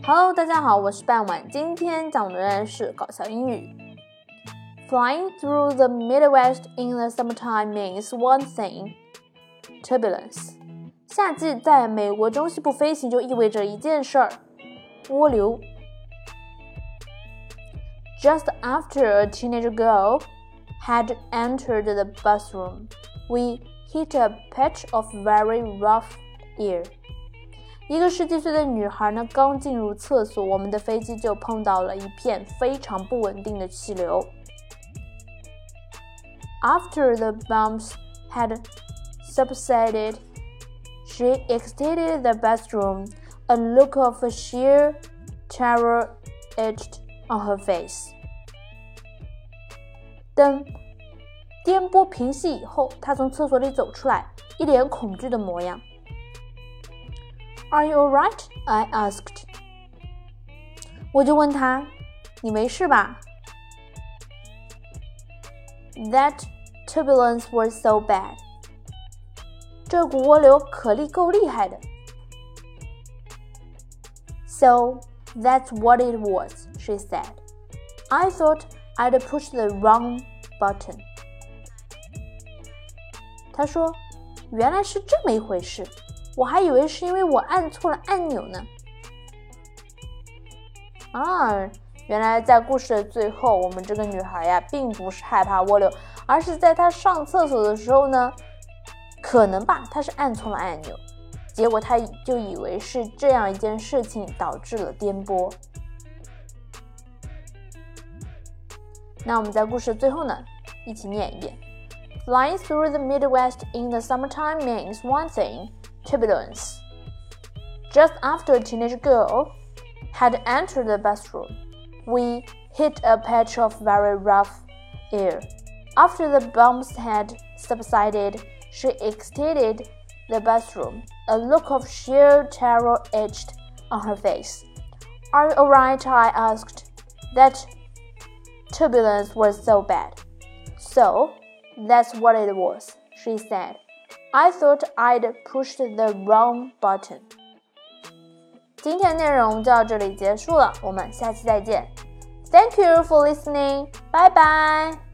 Hello， 大家好，我是半晚，今天讲的是搞笑英语。Flying through the Midwest in the summertime means one thing: turbulence. 夏季在美国中西部飞行就意味着一件事儿：涡流。Just after a teenage girl had entered the bathroom, we hit a patch of very rough air. 一个17岁的女孩呢，刚进入厕所，我们的飞机就碰到了一片非常不稳定的气流。After the bumps had subsided, she exited the bathroom, a look of sheer terror etched on her face. 等颠簸平息以后，她从厕所里走出来，一脸恐惧的模样。Are you alright? I asked. 我就问她，你没事吧？ That turbulence was so bad. 这股涡流够厉害的。So that's what it was, she said. I thought I'd pushed the wrong button. 她说，原来是这么一回事。我还以为是因为我按错了按钮呢。原来在故事的最后，我们这个女孩呀，并不是害怕涡流，而是在她上厕所的时候呢，可能吧，她是按错了按钮，结果她就以为是这样一件事情导致了颠簸。那我们在故事的最后呢，一起念一遍。Flying through the Midwest in the summertime means one thing: turbulence. Just after a teenage girl had entered the bathroom, we hit a patch of very rough air. After the bumps had subsided, she exited the bathroom, a look of sheer terror etched on her face. Are you alright? I asked. That turbulence was so bad. So, that's what it was, she said.I thought I'd pushed the wrong button. 今天的内容就到这里结束了，我们下期再见。Thank you for listening. Bye bye.